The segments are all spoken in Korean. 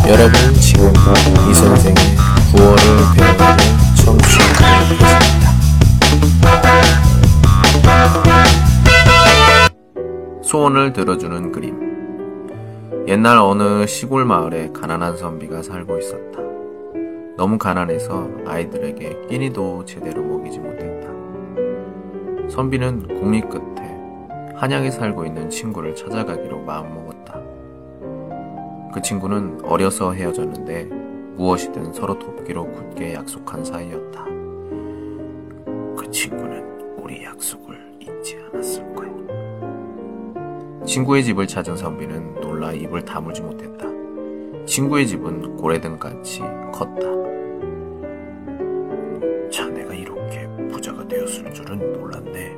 여러분 지금 이 선생의 9월을 배우는 청취하고 계십니다. 소원을 들어주는 그림. 옛날 어느 시골 마을에 가난한 선비가 살고 있었다. 너무 가난해서 아이들에게 끼니도 제대로 먹이지 못했다. 선비는 국리 끝에 한양에 살고 있는 친구를 찾아가기로 마음먹었다. 그 친구는 어려서 헤어졌는데 무엇이든 서로 돕기로 굳게 약속한 사이였다. 그 친구는 우리 약속을 잊지 않았을 거야. 친구의 집을 찾은 선비는 놀라 입을 다물지 못했다. 친구의 집은 고래등같이 컸다. 자네가 이렇게 부자가 되었을 줄은 몰랐네.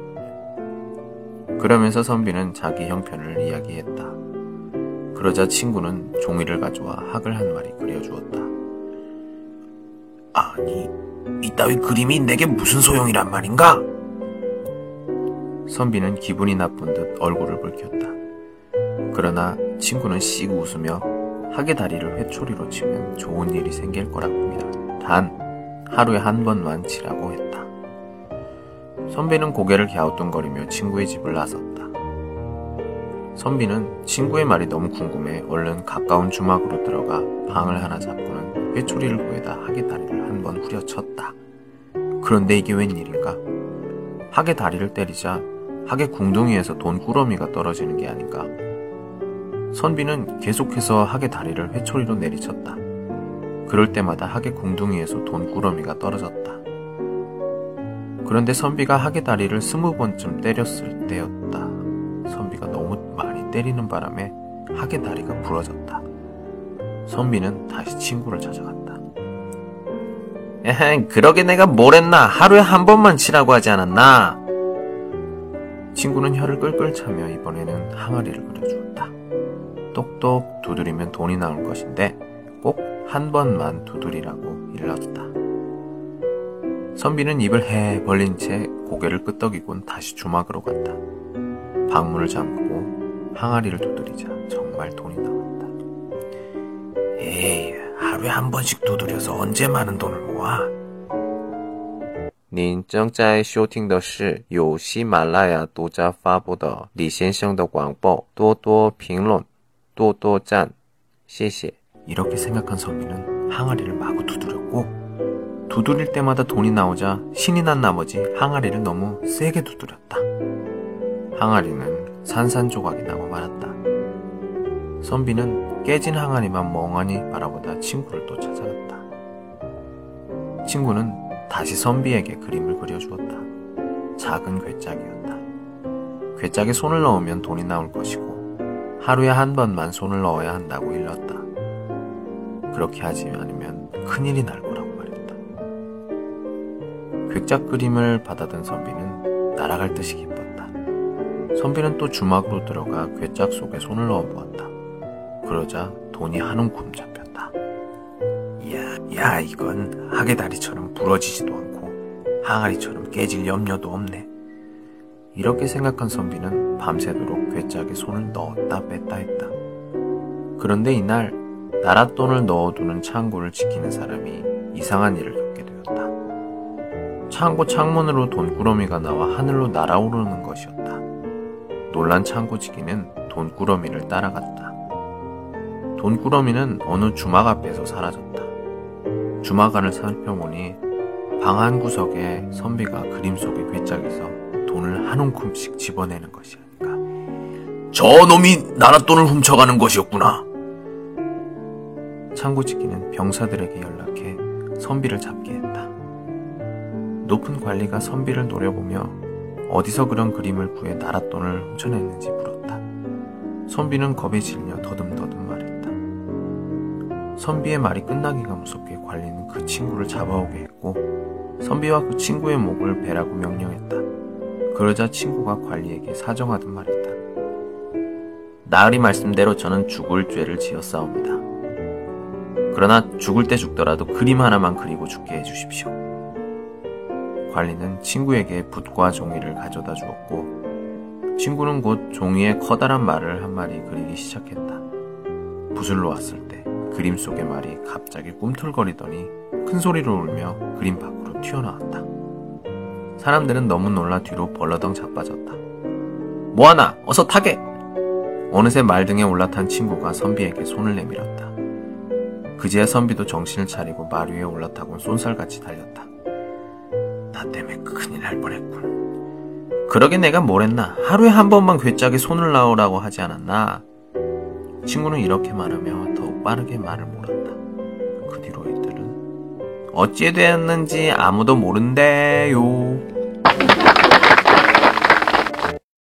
그러면서 선비는 자기 형편을 이야기했다. 그러자 친구는 종이를 가져와 학을 한 마리 그려주었다. 아니, 이따위 그림이 내게 무슨 소용이란 말인가? 선비는 기분이 나쁜 듯 얼굴을 붉혔다. 그러나 친구는 씩 웃으며 학의 다리를 회초리로 치면 좋은 일이 생길 거라고 믿어. 단 하루에 한 번만 치라고 했다. 선비는 고개를 갸우뚱거리며 친구의 집을 나섰다. 선비는 친구의 말이 너무 궁금해 얼른 가까운 주막으로 들어가 방을 하나 잡고는 회초리를 구해다 학의 다리를 한 번 후려쳤다. 그런데 이게 웬일인가? 학의 다리를 때리자 학의 궁둥이에서 돈꾸러미가 떨어지는 게 아닌가? 선비는 계속해서 학의 다리를 회초리로 내리쳤다. 그럴 때마다 학의 궁둥이에서 돈꾸러미가 떨어졌다. 그런데 선비가 학의 다리를 20번쯤 때렸을 때였다. 선비가 너무 많이 때리는 바람에 학의 다리가 부러졌다. 선비는 다시 친구를 찾아갔다. 에헤, 그러게 내가 뭘 했나? 하루에 한 번만 치라고 하지 않았나? 친구는 혀를 끌끌 차며 이번에는 항아리를 그려주었다. 똑똑 두드리면 돈이 나올 것인데 꼭 한 번만 두드리라고 일렀다. 선비는 입을 해 벌린 채 고개를 끄덕이곤 다시 주막으로 갔다. 방문을 잠그고 항아리를 두드리자 정말 돈이 나왔다. 에이, 하루에 한 번씩 두드려서 언제 많은 돈을 모아? 您正在收听的是由喜马拉雅独家发布的李先生的广播，多多评论，多多赞，谢谢。 이렇게 생각한 선비는 항아리를 마구 두드렸고 두드릴 때마다 돈이 나오자 신이 난 나머지 항아리를 너무 세게 두드렸다. 항아리는 산산조각이 나고 말았다. 선비는 깨진 항아리만 멍하니 바라보다 친구를 또 찾아갔다. 친구는 다시 선비에게 그림을 그려주었다. 작은 괴짝이었다. 괴짝에 손을 넣으면 돈이 나올 것이고 하루에 한 번만 손을 넣어야 한다고 일렀다. 그렇게 하지 않으면 큰일이 날 거라고 말했다. 괴짝 그림을 받아든 선비는 날아갈 듯이 기뻤다. 선비는 또 주막으로 들어가 괴짝 속에 손을 넣어보았다. 그러자 돈이 한 움큼 잡혔다. 야, 이건 학의 다리처럼 부러지지도 않고 항아리처럼 깨질 염려도 없네. 이렇게 생각한 선비는 밤새도록 괴짝에 손을 넣었다 뺐다 했다. 그런데 이날 나랏돈을 넣어두는 창고를 지키는 사람이 이상한 일을 겪게 되었다. 창고 창문으로 돈꾸러미가 나와 하늘로 날아오르는 것이었다. 놀란 창고지기는 돈꾸러미를 따라갔다. 돈꾸러미는 어느 주막 앞에서 사라졌다. 주막 안을 살펴보니 방 한 구석에 선비가 그림 속의 괴짝에서 돈을 한 움큼씩 집어내는 것이 아닌가. 저놈이 나랏돈을 훔쳐가는 것이었구나. 창고지기는 병사들에게 연락해 선비를 잡게 했다. 높은 관리가 선비를 노려보며 어디서 그런 그림을 구해 나랏돈을 훔쳐냈는지 물었다. 선비는 겁에 질려 더듬더듬 말했다. 선비의 말이 끝나기가 무섭게 관리는 그 친구를 잡아오게 했고 선비와 그 친구의 목을 베라고 명령했다. 그러자 친구가 관리에게 사정하듯 말했다. 나으리 말씀대로 저는 죽을 죄를 지었사옵니다. 그러나 죽을 때 죽더라도 그림 하나만 그리고 죽게 해주십시오. 관리는 친구에게 붓과 종이를 가져다 주었고 친구는 곧 종이에 커다란 말을 한 마리 그리기 시작했다. 붓을 놓았을 때 그림 속의 말이 갑자기 꿈틀거리더니 큰 소리로 울며 그림 밖으로 튀어나왔다. 사람들은 너무 놀라 뒤로 벌러덩 자빠졌다. 뭐하나 어서 타게! 어느새 말등에 올라탄 친구가 선비에게 손을 내밀었다. 그제야 선비도 정신을 차리고 말 위에 올라타곤 쏜살같이 달렸다. 나 때문에 큰일 날 뻔했군. 그러게 내가 뭘 했나? 하루에 한 번만 괴짝에 손을 놔오라고 하지 않았나? 친구는 이렇게 말하며 더욱 빠르게 말을 몰았다. 그 뒤로 이들은 어찌 되었는지 아무도 모른대요.